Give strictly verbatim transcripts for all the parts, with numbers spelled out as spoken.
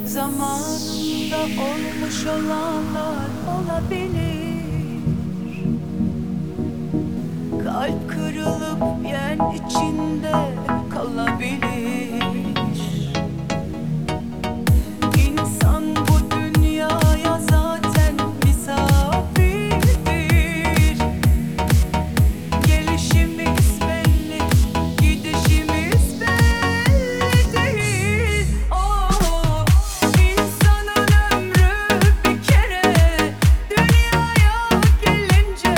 Zamanında olmuş olanlar olabilir. Kalp kırılıp yen içinde kalabilir. İnsan bu dünyaya zaten misafirdir. Gelişimiz belli, gidişimiz belli değil. Oh, insanın ömrü bir kere, dünyaya gelince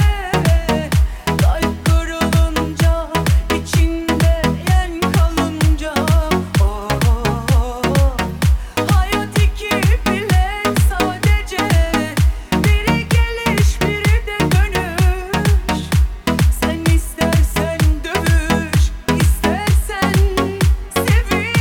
kalp kırılınca, içinde yen kalınca, oh, hayat iki bilet sadece, biri geliş biri de dönüş. Sen istersen dövüş, istersen seviş.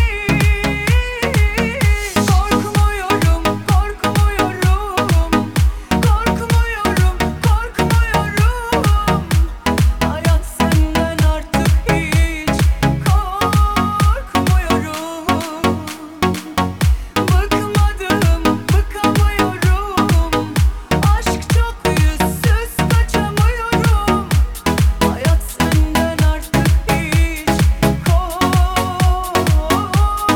Korkmuyorum, korkmuyorum, korkmuyorum, korkmuyorum. Hayat senden artık hiç korkmuyorum. Bıkmadım, bıkamıyorum. Aşk çok yüzsüz, kaçamıyorum. Hayat senden artık hiç korkmuyorum.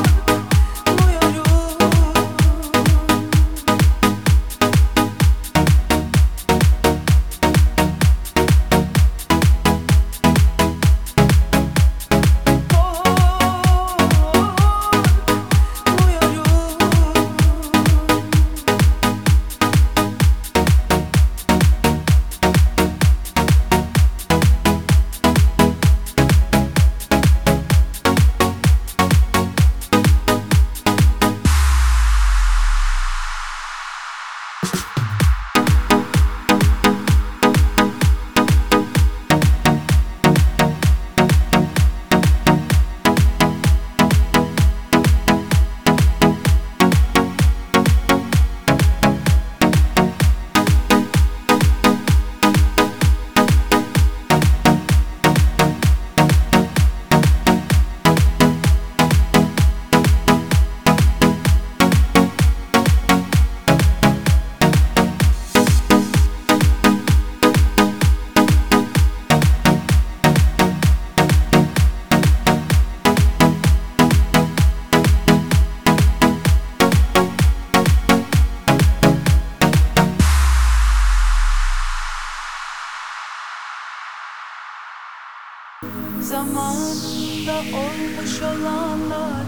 Zamanında olmuş olanlar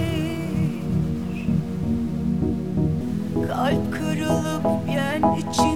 olabilir. Kalp kırılıp yen için